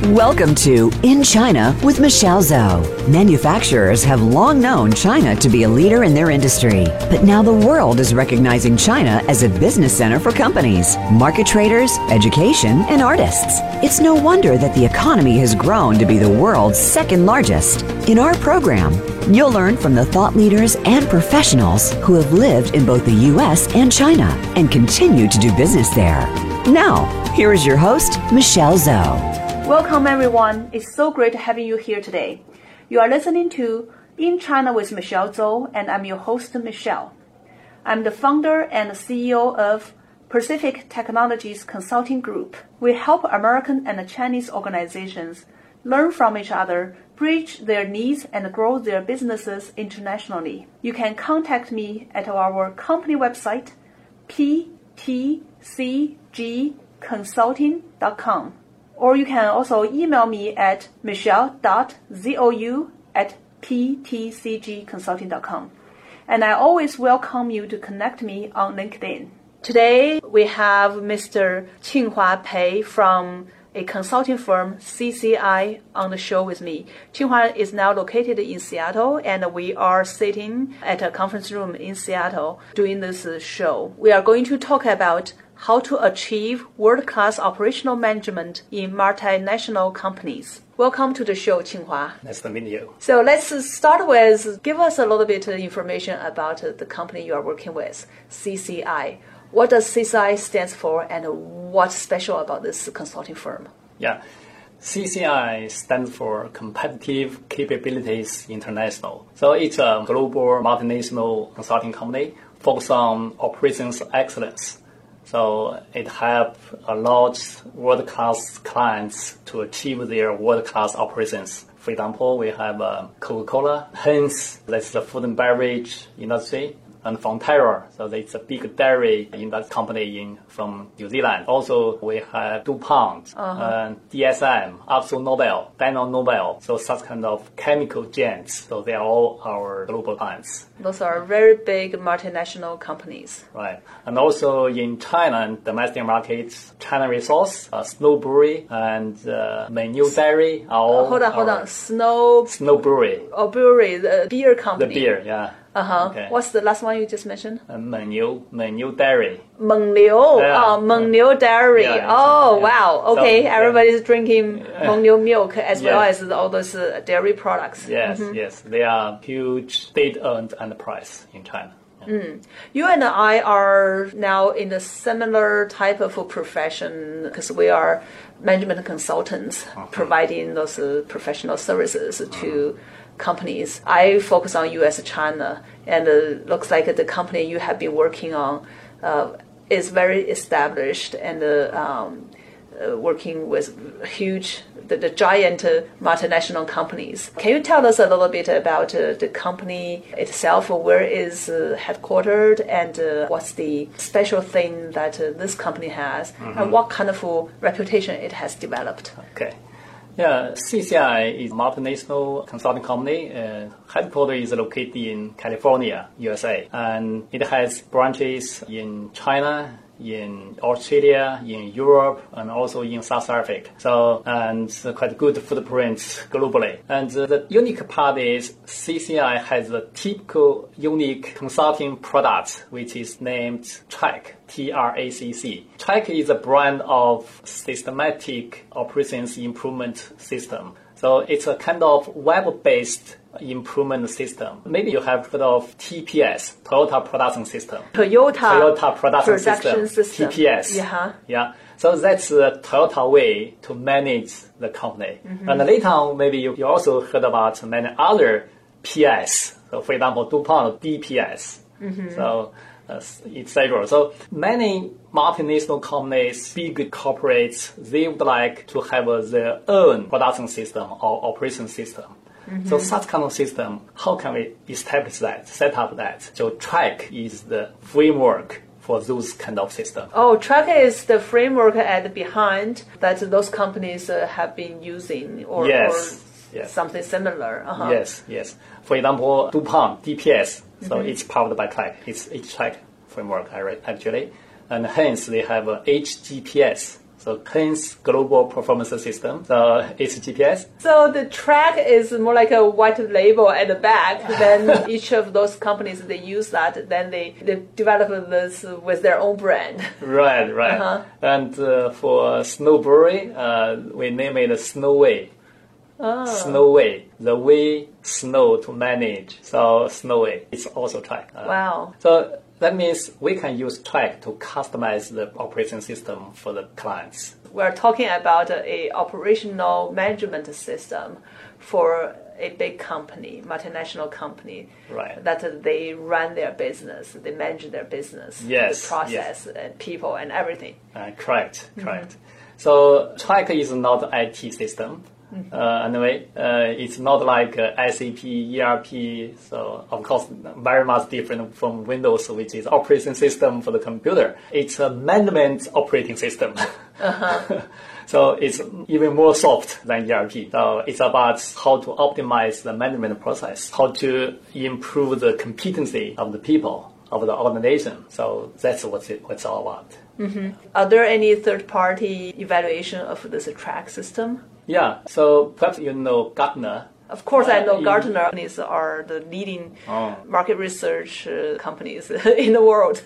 Welcome to In China with Michelle Zhou. Manufacturers have long known China to be a leader in their industry, but now the world is recognizing China as a business center for companies, market traders, education, and artists. It's no wonder that the economy has grown to be the world's second largest. In our program, you'll learn from the thought leaders and professionals who have lived in both the U.S. and China and continue to do business there. Now, here is your host, Michelle Zhou. Welcome everyone, it's so great having you here today. You are listening to In China with Michelle Zhou, and I'm your host, Michelle. I'm the founder and CEO of Pacific Technologies Consulting Group. We help American and Chinese organizations learn from each other, bridge their needs, and grow their businesses internationally. You can contact me at our company website, ptcgconsulting.com. Or you can also email me at michelle.zhou@ptcgconsulting.com. And I always welcome you to connect me on LinkedIn. Today, we have Mr. Qinghua Pei from a consulting firm, CCI, on the show with me. Qinghua is now located in Seattle, and we are sitting at a conference room in Seattle doing this show. We are going to talk about how to achieve world-class operational management in multinational companies. Welcome to the show, Qinghua. Nice to meet you. So let's start with, give us a little bit of information about the company you are working with, CCI. What does CCI stands for, and what's special about this consulting firm? Yeah, CCI stands for Competitive Capabilities International. So it's a global multinational consulting company focused on operations excellence. So it helps a lot world-class clients to achieve their world-class operations. For example, we have Coca-Cola, Heinz, that's the food and beverage industry, and Fonterra, so it's a big dairy company from New Zealand. Also, we have DuPont, DSM, AkzoNobel, Dyno Nobel, so such kind of chemical giants. So they are all our global clients. Those are very big multinational companies. Right. And also in China, domestic markets, China Resource, Snow Brewery, and Mengniu Dairy are all Hold on. Snow Brewery. Oh, brewery, the beer company. The beer, yeah. Okay. What's the last one you just mentioned? Mengniu Dairy. Mengniu. Yeah. Mengniu Dairy. Yeah, wow. Okay, so, everybody's drinking Mengniu milk as well as all those dairy products. Yes, yes. They are huge state-owned enterprise in China. You and I are now in a similar type of profession because we are management consultants providing those professional services to companies. I focus on U.S. China, and it looks like the company you have been working on is very established and working with the giant multinational companies. Can you tell us a little bit about the company itself? Where is headquartered, and what's the special thing that this company has, and what kind of reputation it has developed? Okay. Yeah, CCI is a multinational consulting company. Headquarters is located in California, USA, and it has branches in China, in Australia, in Europe, and also in South Africa. So, and quite good footprint globally. And the unique part is CCI has a typical unique consulting product, which is named TRACK, TRACC. TRACK is a brand of systematic operations improvement system. So it's a kind of web-based improvement system. Maybe you have heard of TPS, Toyota Production System. Toyota Production System. TPS. Yeah. So that's the Toyota way to manage the company. And later on, maybe you also heard about many other PS. So for example, DuPont, DPS. So etc. So many multinational companies, big corporates, they would like to have their own production system or operation system. So such kind of system, how can we establish that, set up that? So TRACK is the framework for those kind of systems. Oh, TRACK is the framework at behind that those companies have been using, or something similar. Yes. For example, DuPont, DPS, so it's powered by TRACK. It's TRACK framework, actually. And hence, they have a HGPS. So CLIN's global performance system. So it's GPS. So the track is more like a white label at the back. Then each of those companies, they use that. Then they develop this with their own brand. Right. And for Snowbury, we name it Snowway. Snowway, the way snow to manage. So Snowway, it's also track. Wow. So that means we can use track to customize the operating system for the clients. We're talking about a operational management system for a big company, multinational company, right, that they run their business, they manage their business, yes, the process, yes, and people and everything. Correct. So track is not an IT system. Anyway, it's not like SAP, ERP, so of course very much different from Windows, which is operating system for the computer. It's a management operating system. So it's even more soft than ERP. So it's about how to optimize the management process, how to improve the competency of the people, of the organization. So that's what it's all about. Are there any third-party evaluation of this track system? Yeah, so perhaps you know Gartner. Of course, I know Gartner companies are the leading market research companies in the world.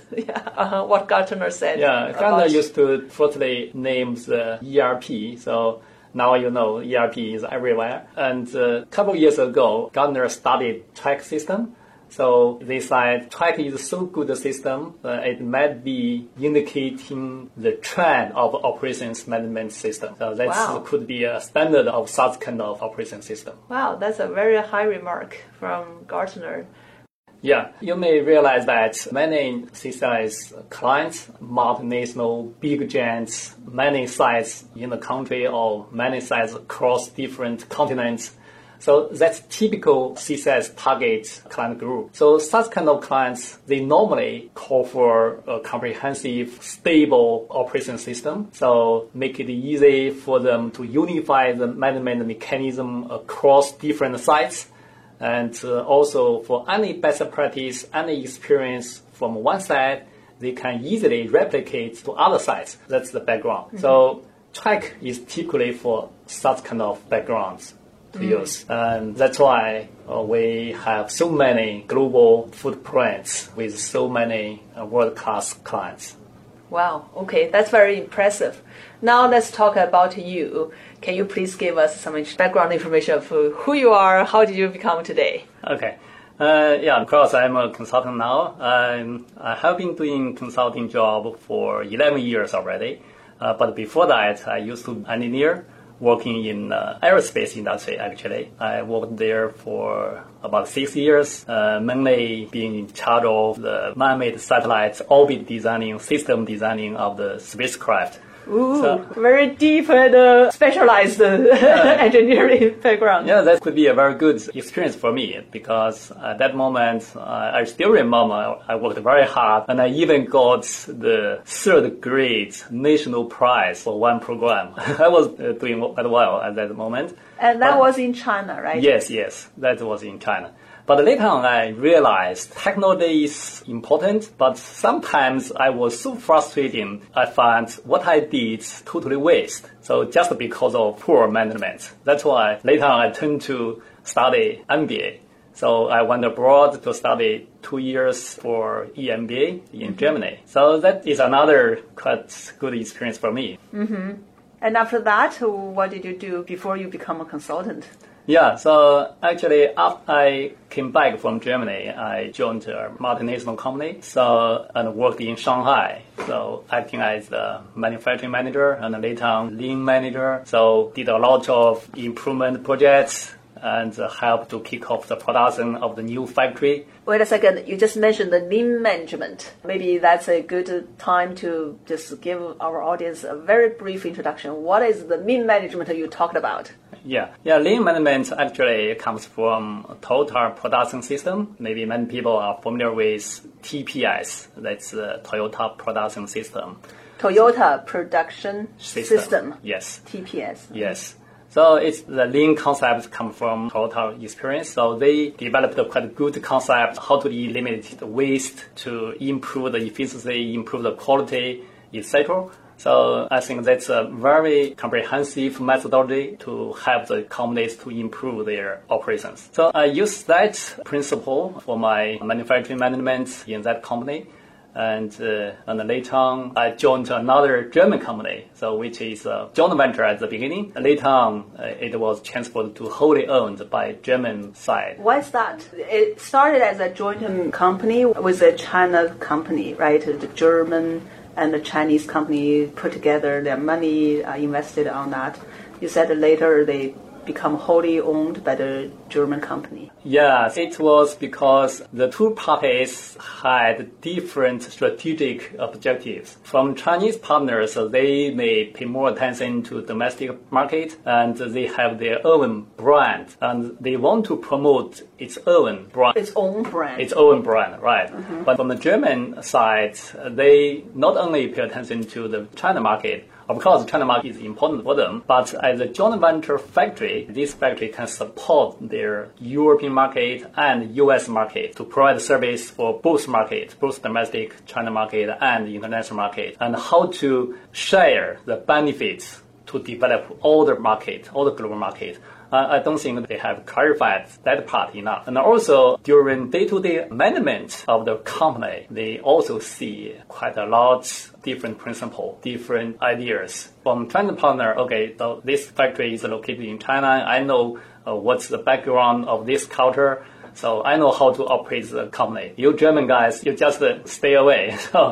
What Gartner said. Yeah, Gartner used to firstly name the ERP. So now you know ERP is everywhere. And a couple of years ago, Gartner studied track system. So they said track is so good a system, it might be indicating the trend of operations management system. So that could be a standard of such kind of operation system. Wow, that's a very high remark from Gartner. Yeah, you may realize that many CCI's clients, multinational, big giants, many sites in the country or many sites across different continents. So that's typical CCI's target client group. So such kind of clients, they normally call for a comprehensive, stable operation system. So make it easy for them to unify the management mechanism across different sites. And also for any best practice, any experience from one side, they can easily replicate to other sites. That's the background. So track is typically for such kind of backgrounds to use. And that's why we have so many global footprints with so many world-class clients. Wow, okay, that's very impressive. Now let's talk about you. Can you please give us some background information of who you are, how did you become today? Okay. Of course, I'm a consultant now. I have been doing consulting job for 11 years already. But before that, I used to engineer, working in aerospace industry, actually. I worked there for about 6 years, mainly being in charge of the man-made satellites, orbit designing, system designing of the spacecraft. Ooh, so, very deep and specialized engineering background. Yeah, that could be a very good experience for me because at that moment, I still remember I worked very hard and I even got the third grade national prize for one program. I was doing quite well at that moment. And that was in China, right? Yes, that was in China. But later on, I realized technology is important, but sometimes I was so frustrated, I found what I did totally waste. So just because of poor management. That's why later on I turned to study MBA. So I went abroad to study 2 years for EMBA in Germany. So that is another quite good experience for me. And after that, what did you do before you become a consultant? Yeah, so actually after I came back from Germany, I joined a multinational company, and worked in Shanghai. So acting as the manufacturing manager and later on lean manager. So did a lot of improvement projects and helped to kick off the production of the new factory. Wait a second, you just mentioned the lean management. Maybe that's a good time to just give our audience a very brief introduction. What is the lean management you talked about? Yeah, lean management actually comes from Toyota production system. Maybe many people are familiar with TPS. That's the Toyota production system. Toyota production system. Yes. TPS. Yes. So it's the lean concept come from Toyota experience. So they developed a quite good concept how to eliminate the waste, to improve the efficiency, improve the quality, etc. So I think that's a very comprehensive methodology to help the companies to improve their operations. So I use that principle for my manufacturing management in that company. And later on, I joined another German company, so which is a joint venture at the beginning. Later on, it was transferred to wholly owned by German side. Why is that? It started as a joint company with a China company, right? The German and the Chinese company put together their money, invested on that. You said later they become wholly owned by the German company. Yes, it was because the two parties had different strategic objectives. From Chinese partners, they may pay more attention to domestic market and they have their own brand and they want to promote its own brand. Its own brand. Its own brand, right. Mm-hmm. But from the German side, they not only pay attention to the China market. Of course, China market is important for them, but as a joint venture factory, this factory can support their European market and US market to provide service for both markets, both domestic China market and the international market, and how to share the benefits to develop all the market, all the global market. I don't think they have clarified that part enough. And also, during day-to-day management of the company, they also see quite a lot different principles, different ideas. From China partner, okay, so this factory is located in China. I know what's the background of this culture. So I know how to operate the company. You German guys, you just stay away. So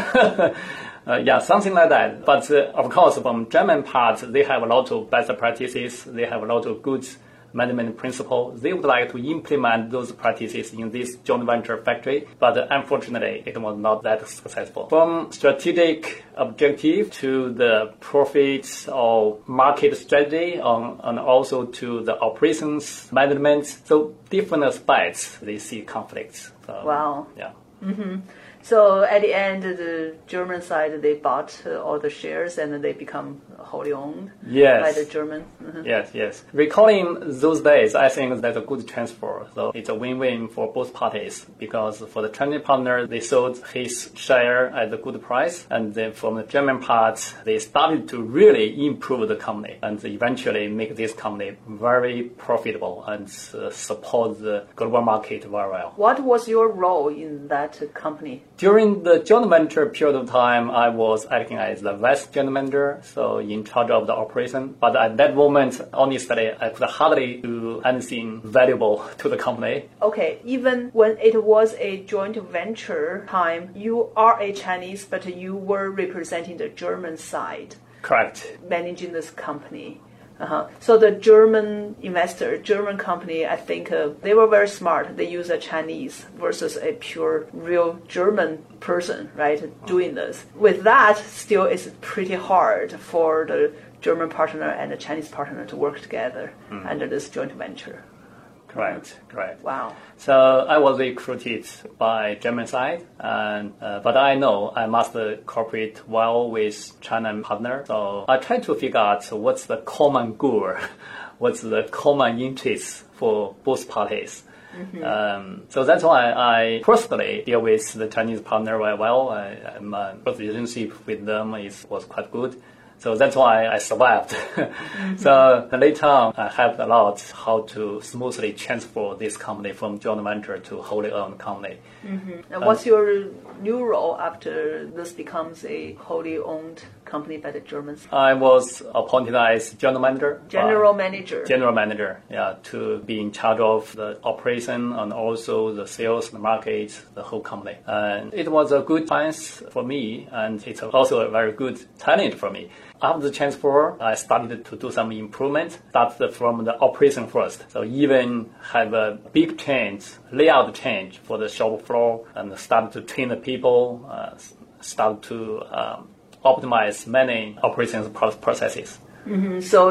yeah, something like that. But of course, from German part, they have a lot of best practices. They have a lot of good management principles. They would like to implement those practices in this joint venture factory, but unfortunately, it was not that successful. From strategic objective to the profits or market strategy, and also to the operations management, so different aspects, they see conflicts. So, wow. Yeah. Mm-hmm. So at the end, the German side, they bought all the shares and they become wholly owned by the German. Mm-hmm. Yes. Recalling those days, I think that's a good transfer. So it's a win-win for both parties because for the Chinese partner, they sold his share at a good price. And then from the German part, they started to really improve the company and eventually make this company very profitable and support the global market very well. What was your role in that company? During the joint venture period of time, I was acting as the vice general manager, so in charge of the operation. But at that moment, honestly, I could hardly do anything valuable to the company. Okay, even when it was a joint venture time, you are a Chinese, but you were representing the German side. Correct. Managing this company. So the German investor, German company, I think they were very smart. They use a Chinese versus a pure, real German person, right, doing this. With that, still it's pretty hard for the German partner and the Chinese partner to work together under this joint venture. Correct. Wow. So I was recruited by German side, but I know I must cooperate well with China partner. So I try to figure out what's the common goal, what's the common interest for both parties. Mm-hmm. So that's why I personally deal with the Chinese partner very well. My relationship with them was quite good. So that's why I survived. Mm-hmm. So later on, I helped a lot how to smoothly transfer this company from joint venture to wholly owned company. Mm-hmm. And what's your new role after this becomes a wholly owned company by the Germans? I was appointed as general manager. General manager, yeah, to be in charge of the operation and also the sales, the market, the whole company. And it was a good chance for me, and it's also a very good talent for me. After the transfer, I started to do some improvement, started from the operation first. So even have a big change, layout change for the shop floor, and started to train the people, start to optimize many operations processes. Mm-hmm. So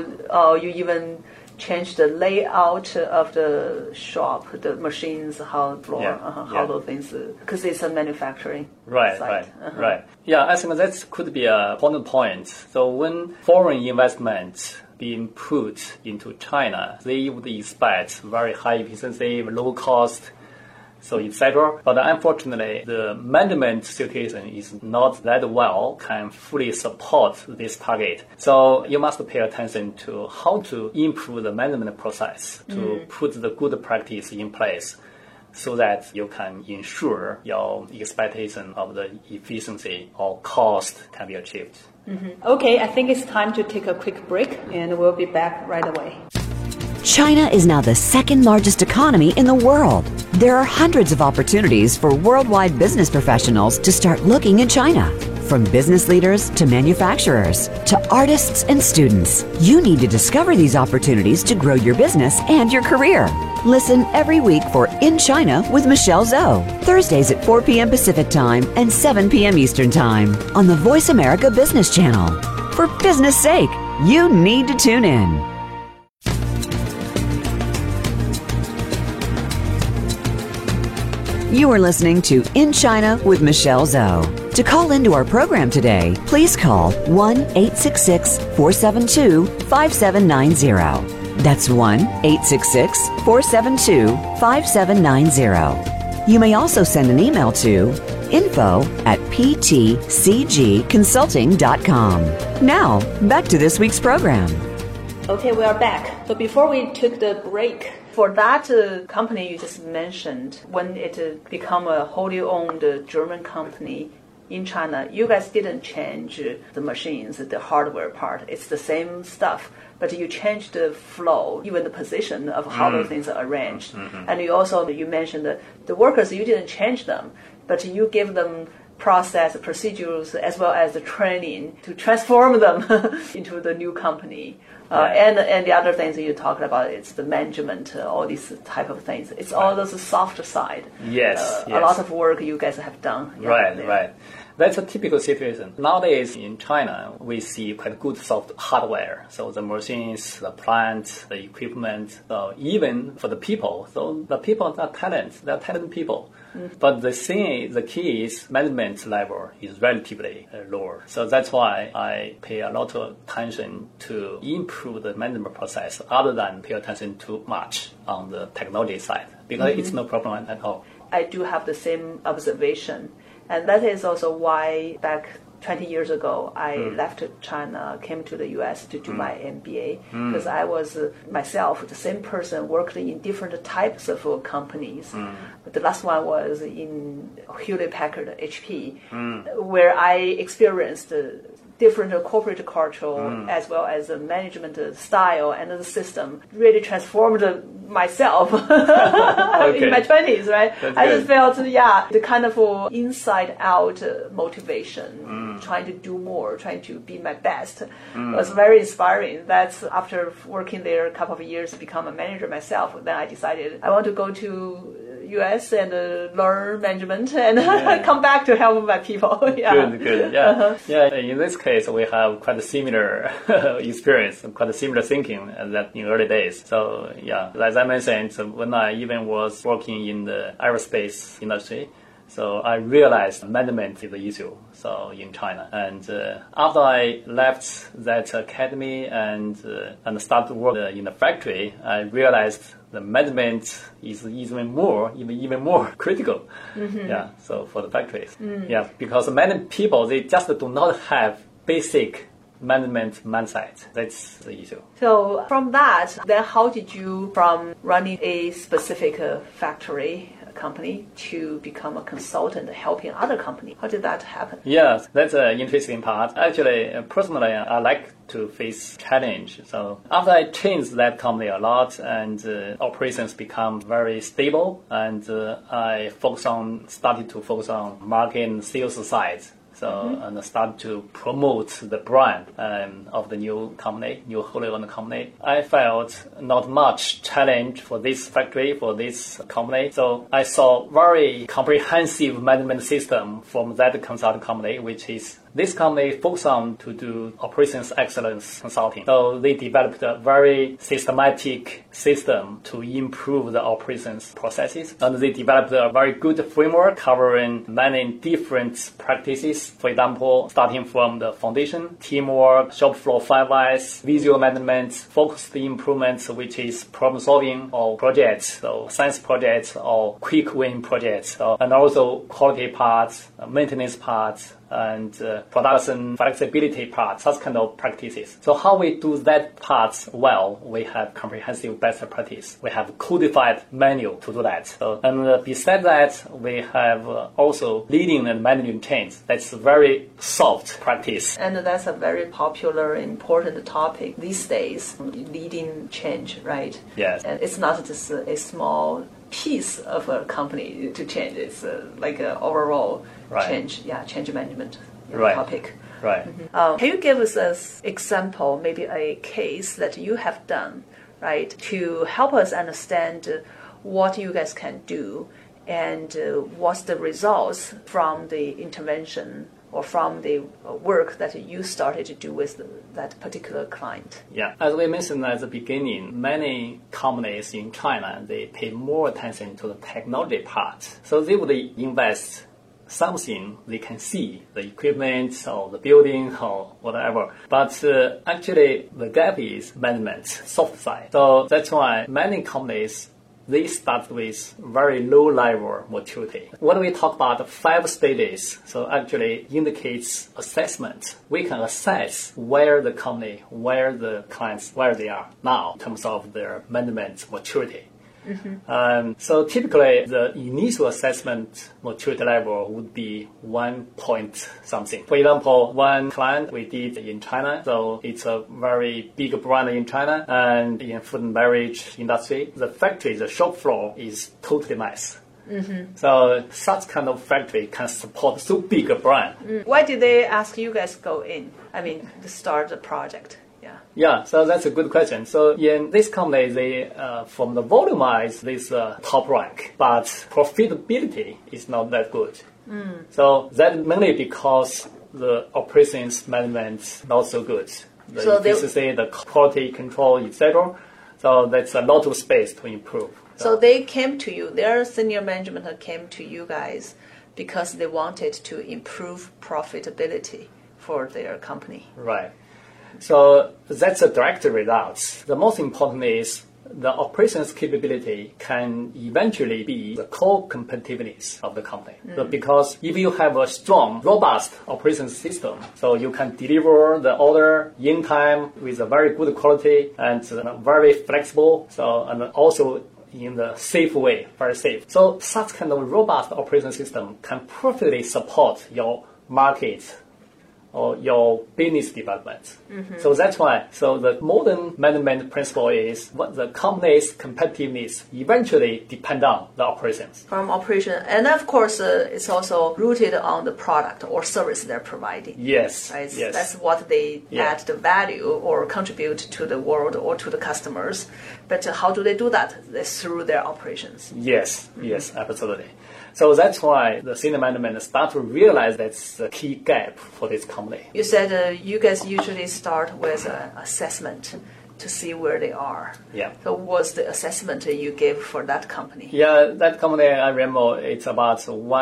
you even changed the layout of the shop, the machines, how those things, because it's a manufacturing site. Right. Yeah, I think that could be a important point. So when foreign investment being put into China, they would expect very high efficiency, low cost. so etc. But unfortunately, the management situation is not that well, can fully support this target. So you must pay attention to how to improve the management process to put the good practice in place, so that you can ensure your expectation of the efficiency or cost can be achieved. Okay, I think it's time to take a quick break, and we'll be back right away. China is now the second largest economy in the world. There are hundreds of opportunities for worldwide business professionals to start looking in China. From business leaders to manufacturers to artists and students, you need to discover these opportunities to grow your business and your career. Listen every week for In China with Michelle Zhou, Thursdays at 4 p.m. Pacific Time and 7 p.m. Eastern Time on the Voice America Business Channel. For business sake, you need to tune in. You are listening to In China with Michelle Zhou. To call into our program today, please call 1-866-472-5790. That's 1-866-472-5790. You may also send an email to info@ptcgconsulting.com. Now, back to this week's program. Okay, we are back. So before we took the break, for that company you just mentioned, when it became a wholly owned German company in China, you guys didn't change the machines, the hardware part. It's the same stuff, but you changed the flow, even the position of how the things are arranged. And you mentioned that the workers, you didn't change them, but you give them process, procedures, as well as the training to transform them into the new company. And the other things that you talked about, it's the management, all these type of things. It's all those soft side. Yes. A lot of work you guys have done. Right. That's a typical situation. Nowadays in China, we see quite good soft hardware. So the machines, the plant, the equipment, even for the people. So the people are they're talented people. But the key is management level is relatively lower. So that's why I pay a lot of attention to improve the management process other than pay attention too much on the technology side, because it's no problem at all. I do have the same observation. And that is also why back 20 years ago, I left China, came to the U.S. to do my MBA, because I was myself the same person, worked in different types of companies. But the last one was in Hewlett-Packard, HP, where I experienced different corporate culture as well as the management style and the system really transformed myself in my 20s, right? I just felt, the kind of inside-out motivation, trying to do more, trying to be my best, was very inspiring. That's after working there a couple of years to become a manager myself, then I decided I want to go to U.S. and learn management and come back to help my people. Good. In this case, we have quite a similar experience, quite a similar thinking that in early days. So as I mentioned, when I even was working in the aerospace industry, so I realized management is the issue. So in China, and after I left that academy and started work in the factory, I realized the management is even more critical. So for the factories, because many people, they just do not have basic management mindset. That's the issue. So from that, then how did you, from running a specific factory company to become a consultant helping other companies? How did that happen? Yes, that's an interesting part. Actually, personally, I like to face challenge. So after I changed that company a lot and operations become very stable, and I started to focus on market and sales side. So, and start to promote the brand of the new wholly owned company. I felt not much challenge for this factory, for this company. So I saw very comprehensive management system from that consulting company, which is this company focused on to do operations excellence consulting. So they developed a very systematic system to improve the operations processes. And they developed a very good framework covering many different practices. For example, starting from the foundation, teamwork, shop floor 5Is, visual management, focused improvements, which is problem solving or projects, so science projects or quick win projects, and also quality parts, maintenance parts, and production flexibility parts, such kind of practices. So how we do that part well, we have comprehensive best practice. We have codified manual to do that. So, and besides that, we have also leading and managing change. That's a very soft practice. And that's a very popular, important topic these days, leading change, right? Yes. And it's not just a small piece of a company to change. It's like an overall change, change management topic. Right. Can you give us an example, maybe a case that you have done, right, to help us understand what you guys can do and what's the results from the intervention or from the work that you started to do with that particular client? Yeah, as we mentioned at the beginning, many companies in China, they pay more attention to the technology part. So they would invest something they can see, the equipment or the building or whatever. But actually, the gap is management, soft side. So that's why many companies, they start with very low level maturity. When we talk about 5 stages, so actually indicates assessment. We can assess where the company, where the clients, where they are now in terms of their management maturity. So typically the initial assessment maturity level would be 1 point something. For example, one client we did in China, so it's a very big brand in China and in food and beverage industry. The factory, the shop floor is totally mess. So such kind of factory can support so big a brand. Why did they ask you guys to go in? I mean, to start the project? Yeah, so that's a good question. So in this company, they from the volume-wise, this top rank, but profitability is not that good. So that mainly because the operations management not so good. The efficiency, the quality control, etc. So that's a lot of space to improve. So they came to you, their senior management came to you guys because they wanted to improve profitability for their company. Right. So that's a direct result. The most important is the operations capability can eventually be the core competitiveness of the company. So because if you have a strong, robust operations system, so you can deliver the order in time with a very good quality and very flexible, so and also in the safe way, very safe. So such kind of robust operation system can perfectly support your market or your business development. So that's why, so the modern management principle is what the company's competitiveness eventually depend on the operations. From operation, and of course, it's also rooted on the product or service they're providing. Yes, right? Yes. That's what they add the value or contribute to the world or to the customers. But how do they do that? It's through their operations. Yes, yes, absolutely. So that's why the senior management start to realize that's the key gap for this company. You said you guys usually start with an assessment to see where they are. Yeah. So what's the assessment you gave for that company? Yeah, that company, I remember it's about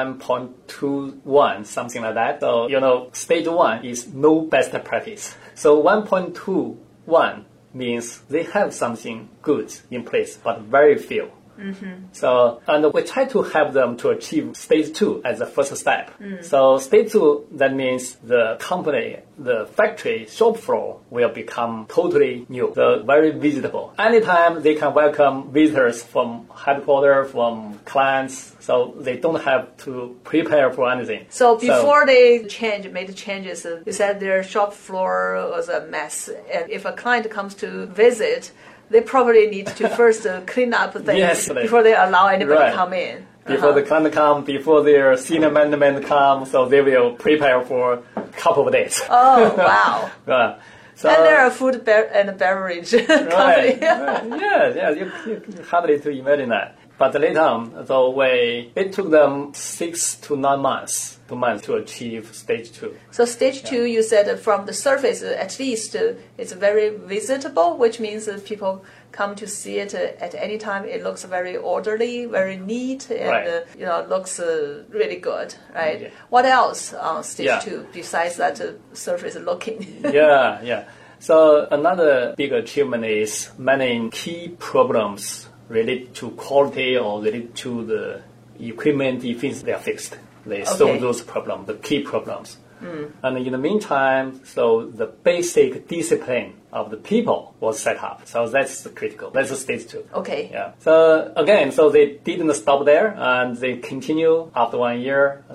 1.21, something like that. So, stage 1 is no best practice. So 1.21 means they have something good in place, but very few. So, and we try to help them to achieve stage 2 as the first step. So stage 2, that means the company, the factory shop floor will become totally new, so very visitable. Anytime they can welcome visitors from headquarters, from clients, so they don't have to prepare for anything. So before they made changes, you said their shop floor was a mess. And if a client comes to visit, they probably need to first clean up things before they allow anybody to come in. Before the client come, before their senior management come, so they will prepare for a couple of days. Oh, wow. So, and they're a food and beverage company. Yeah, you hardly to imagine that. But later on, so it took them 6 to 9 months to achieve stage 2. So stage 2, you said from the surface, at least it's very visitable, which means that people come to see it at any time. It looks very orderly, very neat, and looks really good, right? Yeah. What else on stage 2 besides that surface looking? Yeah. So another big achievement is many key problems related to quality or related to the equipment efficiency, they are fixed. They solve those problems, the key problems. And in the meantime, so the basic discipline of the people was set up. So that's critical. That's stage 2. Okay. Yeah. So again, so they didn't stop there, and they continue after 1 year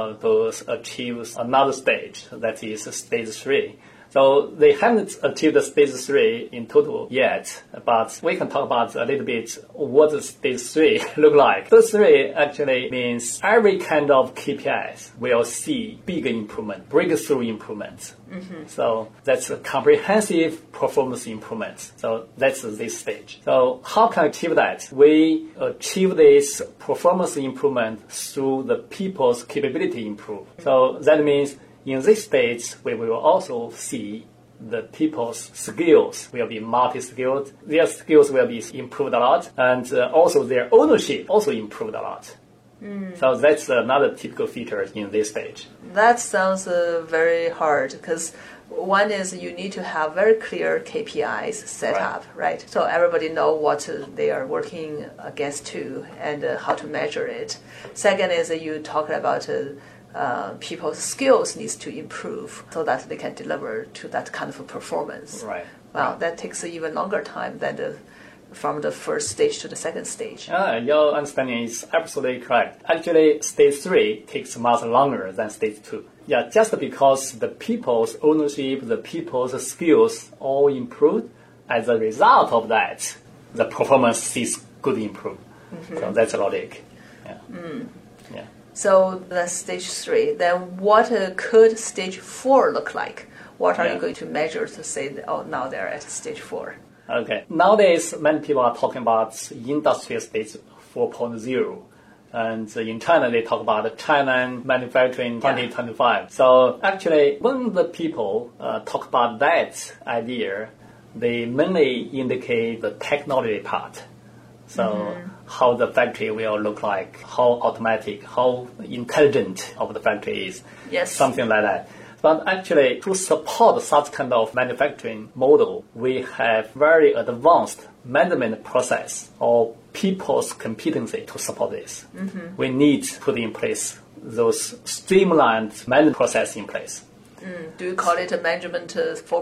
to achieve another stage. That is stage 3. So they haven't achieved stage 3 in total yet, but we can talk about a little bit what does stage 3 look like. Stage 3 actually means every kind of KPIs will see big improvement, breakthrough improvements. So that's a comprehensive performance improvement. So that's this stage. So how can we achieve that? We achieve this performance improvement through the people's capability improve. So that means in this stage, we will also see the people's skills will be multi-skilled. Their skills will be improved a lot, and also their ownership also improved a lot. So that's another typical feature in this stage. That sounds very hard because one is you need to have very clear KPIs set up, right? So everybody know what they are working against to and how to measure it. Second is you talk about people's skills needs to improve so that they can deliver to that kind of a performance. Right. Wow, that takes even longer time than from the first stage to the second stage. Your understanding is absolutely correct. Actually, stage 3 takes much longer than stage 2. Yeah, just because the people's ownership, the people's skills all improved, as a result of that, the performance is good improved. So that's logic. Yeah. Yeah. So that's stage 3. Then what could stage 4 look like? What are you going to measure to say, that, now they're at stage 4? Okay. Nowadays, many people are talking about industrial stage 4.0. And in China, they talk about China manufacturing 2025. So actually, when the people talk about that idea, they mainly indicate the technology part. So how the factory will look like, how automatic, how intelligent of the factory is, something like that. But actually, to support such kind of manufacturing model, we have very advanced management process or people's competency to support this. We need to put in place those streamlined management process in place. Do you call it a management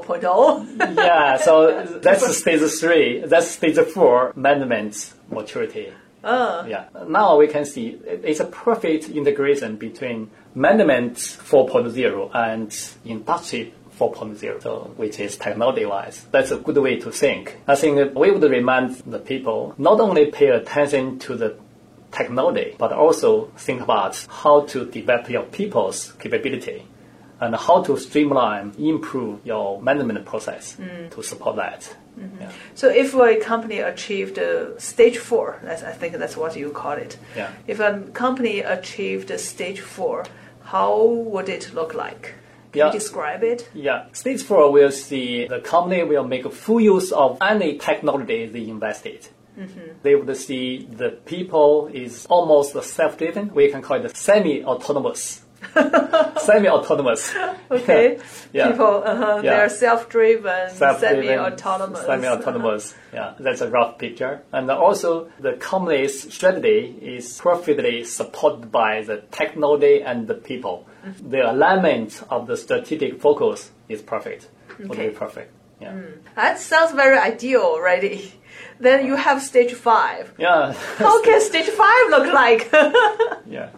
4.0? Yeah, so that's stage 3. That's stage 4, management maturity. Yeah. Now we can see it's a perfect integration between management 4.0 and industry 4.0, so which is technology-wise. That's a good way to think. I think we would remind the people not only pay attention to the technology, but also think about how to develop your people's capability and how to streamline, improve your management process to support that. Yeah. So if a company achieved stage 4, I think that's what you call it. Yeah. If a company achieved stage 4, how would it look like? Can you describe it? Yeah. Stage 4 will see the company will make full use of any technology they invested. They would see the people is almost self-driven. We can call it semi-autonomous. Semi-autonomous. Okay. Yeah. People, they're self-driven, semi-autonomous. Semi-autonomous. Yeah, that's a rough picture. And also, the company's strategy is perfectly supported by the technology and the people. The alignment of the strategic focus is perfect. Would be perfect. Yeah. That sounds very ideal already. Then you have stage 5. Yeah. How can stage 5 look like? Yeah.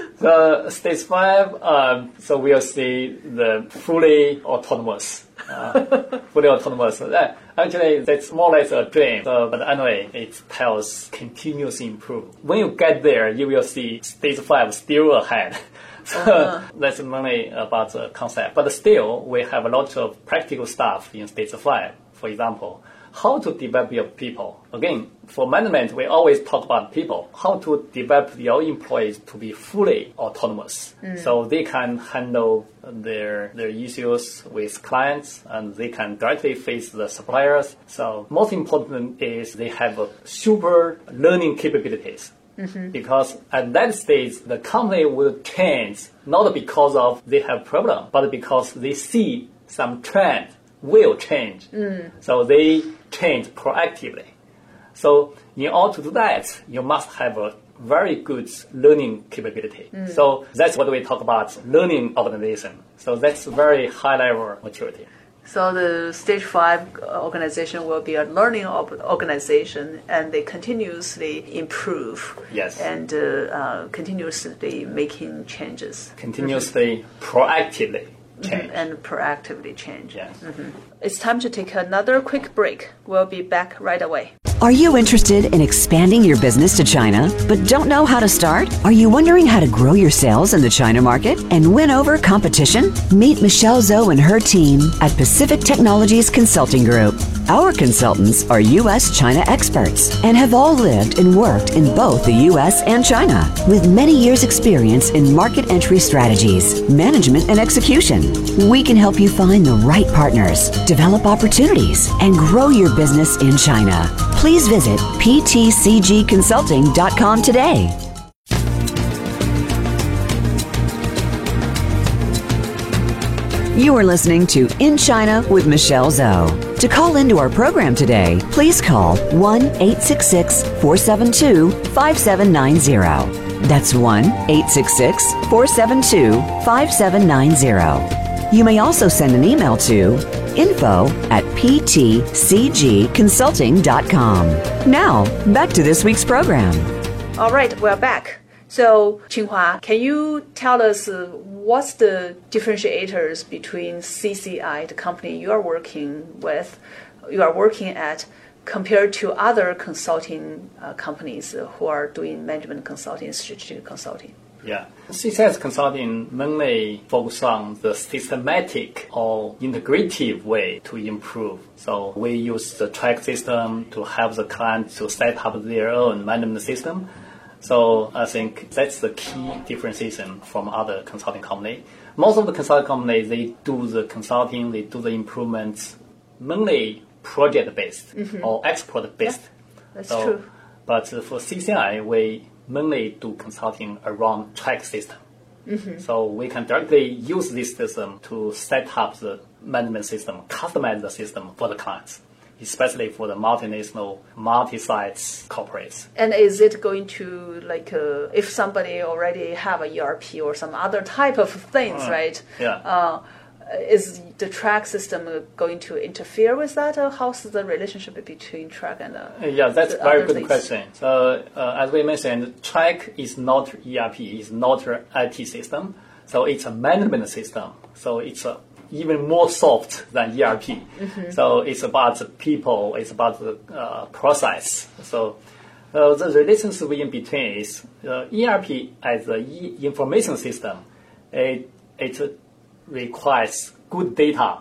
So stage 5, so we'll see the fully autonomous. Actually, that's more or less a dream. So, but anyway, it tells continuous improvement. When you get there, you will see stage 5 still ahead. So that's mainly about the concept. But still, we have a lot of practical stuff in stage 5. For example, how to develop your people. Again, for management, we always talk about people, how to develop your employees to be fully autonomous. So they can handle their issues with clients and they can directly face the suppliers. So most important is they have a super learning capabilities. Because at that stage, the company will change, not because of they have problem, but because they see some trend will change. So they change proactively. So in order to do that, you must have a very good learning capability. So that's what we talk about, learning organization. So that's very high level maturity. So the stage 5 organization will be a learning organization, and they continuously improve. Yes. And continuously making changes. Continuously, proactively change. And proactively change. Yes. It's time to take another quick break. We'll be back right away. Are you interested in expanding your business to China, but don't know how to start? Are you wondering how to grow your sales in the China market and win over competition? Meet Michelle Zhou and her team at Pacific Technologies Consulting Group. Our consultants are U.S.-China experts and have all lived and worked in both the U.S. and China, with many years' experience in market entry strategies, management, and execution. We can help you find the right partners, develop opportunities, and grow your business in China. Please visit ptcgconsulting.com today. You are listening to In China with Michelle Zhou. To call into our program today, please call 1-866-472-5790. That's 1-866-472-5790. You may also send an email to info@ptcgconsulting.com. Now, back to this week's program. All right, we're back. So, Qinghua, can you tell us what's the differentiators between CCI, the company you are working at, compared to other consulting companies who are doing management consulting, strategic consulting? Yeah. CCS consulting mainly focus on the systematic or integrative way to improve. So we use the track system to help the client to set up their own management system. So I think that's the key differentiation from other consulting companies. Most of the consulting companies, they do the consulting, they do the improvements mainly project-based or export-based. Yeah, that's true. But for CCI, we mainly do consulting around track system. So we can directly use this system to set up the management system, customize the system for the clients, especially for the multinational, multi-sites corporates. And is it going to, if somebody already have a ERP or some other type of things, right? Yeah. Is the track system going to interfere with that? Or how's the relationship between track and yeah, that's a very good things? question. So as we mentioned, track is not ERP, it's not an IT system. So it's a management system. So it's even more soft than ERP. So it's about the people, it's about the process. So the relationship in between is ERP as an information system. It requires good data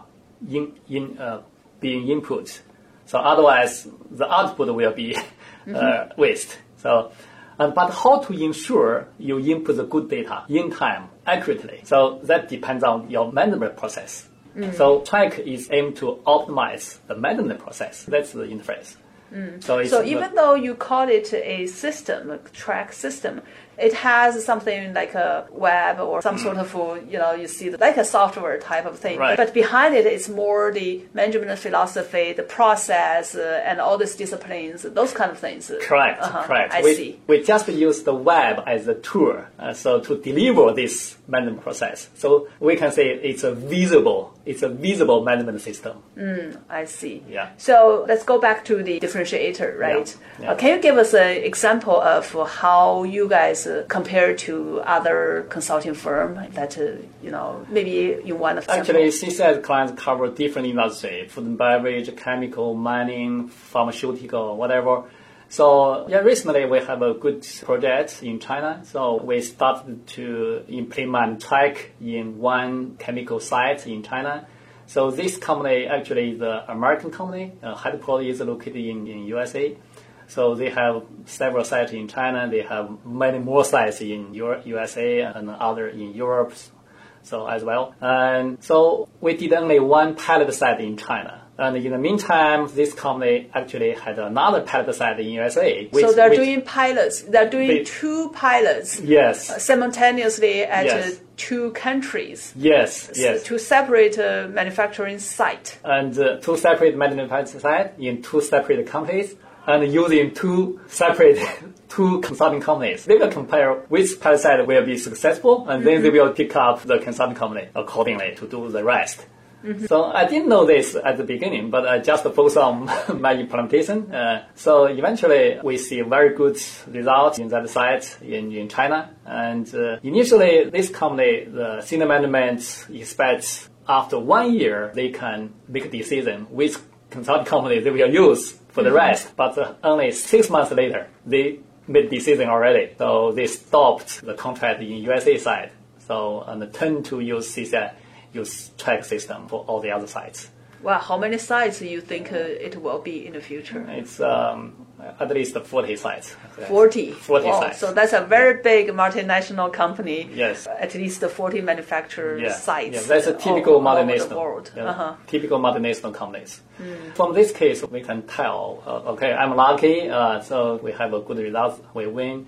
being input. So otherwise, the output will be waste. So, but how to ensure you input the good data in time, accurately? So that depends on your management process. So track is aimed to optimize the management process. That's the interface. So even though you call it a system, a track system, it has something like a web or some sort of, you see like a software type of thing. Right. But behind it, it's more the management philosophy, the process, and all these disciplines, those kind of things. Correct, correct. I see. We just use the web as a tool, so to deliver this management process. So we can say it's a visible management system. I see. Yeah. So let's go back to the differentiator, right? Yeah. Can you give us an example of how you guys compare to other consulting firm that, maybe in one of them? Actually, CCS clients cover different industries, food and beverage, chemical, mining, pharmaceutical, whatever. So recently we have a good project in China. So we started to implement track in one chemical site in China. So this company actually is an American company. Headquarters is located in USA. So they have several sites in China. They have many more sites in USA and other in Europe, so as well. And so we did only one pilot site in China. And in the meantime, this company actually had another pilot site in USA. So they're doing pilots. They're doing two pilots. Yes. Simultaneously at Yes. two countries. Yes. Yes. Two separate manufacturing sites. And two separate manufacturing sites in two separate countries, and using two separate consulting companies. They will compare which pilot site will be successful, and then they will pick up the consulting company accordingly to do the rest. So I didn't know this at the beginning, but I just focused on my implementation. So eventually we see very good results in that site in China. And initially this company, the senior management expects after 1 year they can make a decision which consulting company they will use for the rest. But only 6 months later, they made decision already. So they stopped the contract in USA side. So and turned to use CCI, use track system for all the other sites. Well, how many sites do you think it will be in the future? It's at least 40 sites. 40? 40 wow. sites. So that's a very big multinational company. Yes. At least 40 manufacturer sites. Yeah, that's a typical all over multinational. the world. Typical multinational companies. From this case, we can tell, okay, I'm lucky, so we have a good result, we win.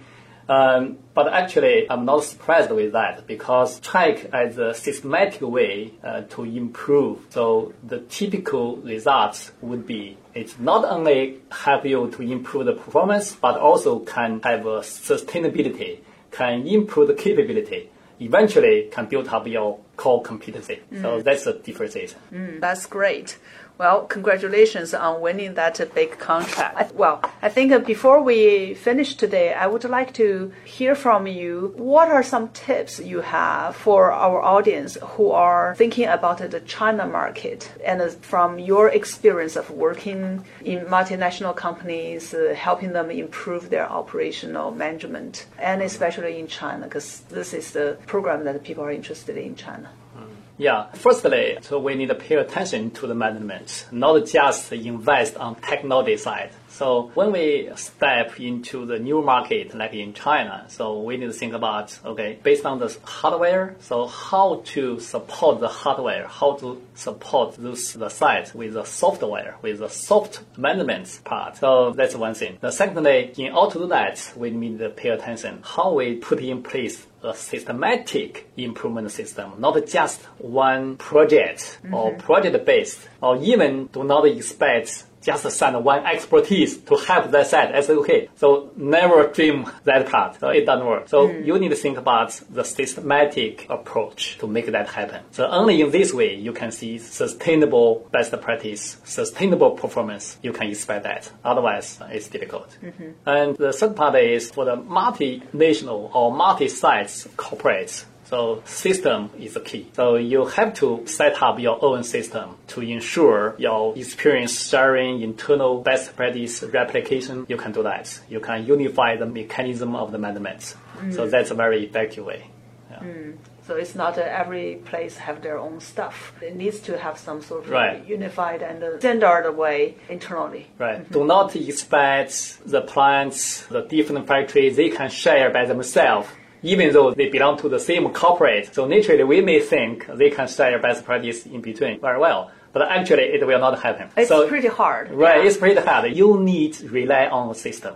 But actually, I'm not surprised with that because track as a systematic way to improve. So the typical results would be it not only help you to improve the performance, but also can have a sustainability, can improve the capability, eventually can build up your core competency. So that's the differentiation. That's great. Well, congratulations on winning that big contract. I think before we finish today, I would like to hear from you. What are some tips you have for our audience who are thinking about the China market? And from your experience of working in multinational companies, helping them improve their operational management, and especially in China, because this is the program that people are interested in China. Yeah, firstly, so we need to pay attention to the management, not just invest on technology side. So when we step into the new market, like in China, so we need to think about, okay, based on the hardware, so how to support the hardware, how to support the site with the software, with the soft management part. So that's one thing. The secondly, in order to do that, we need to pay attention how we put in place a systematic improvement system, not just one project or project-based, or even do not expect just send one expertise to help that site. I say, okay, so never dream that part. So it doesn't work. So you need to think about the systematic approach to make that happen. So only in this way you can see sustainable best practice, sustainable performance. You can expect that. Otherwise, it's difficult. And the third part is for the multinational or multi-sites corporates. So system is the key. So you have to set up your own system to ensure your experience sharing, internal best practice replication. You can do that. You can unify the mechanism of the management. So that's a very effective way. Yeah. So it's not every place have their own stuff. It needs to have some sort of unified and standard way internally. Right. Do not expect the plants, the different factories, they can share by themselves, even though they belong to the same corporate. So naturally, we may think they can share best practice in between very well. But actually, it will not happen. It's pretty hard. Right, it's pretty hard. You need to rely on the system.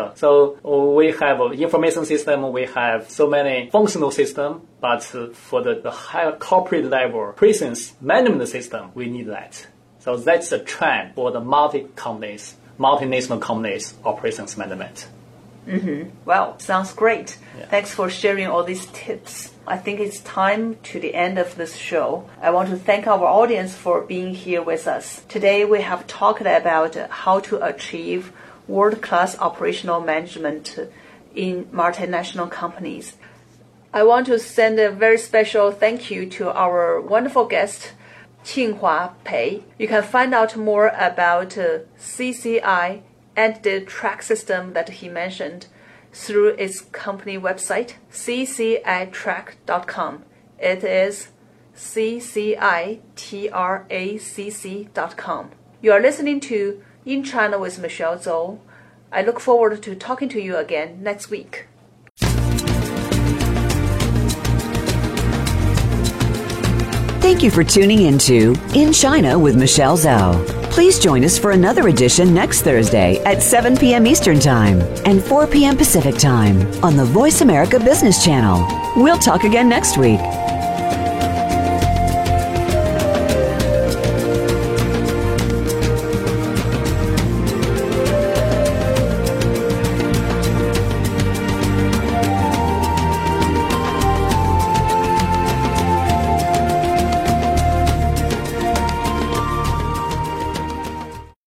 So we have an information system, we have so many functional systems, but for the higher corporate level presence management system, we need that. So that's the trend for the multinational companies operations management. Well, sounds great. Yeah. Thanks for sharing all these tips. I think it's time to the end of this show. I want to thank our audience for being here with us. Today we have talked about how to achieve world-class operational management in multinational companies. I want to send a very special thank you to our wonderful guest, Qinghua Pei. You can find out more about CCI and the track system that he mentioned through its company website, ccitrack.com. It is CCITRACC.com. You are listening to In China with Michelle Zhou. I look forward to talking to you again next week. Thank you for tuning into In China with Michelle Zhou. Please join us for another edition next Thursday at 7 p.m. Eastern Time and 4 p.m. Pacific Time on the Voice America Business Channel. We'll talk again next week.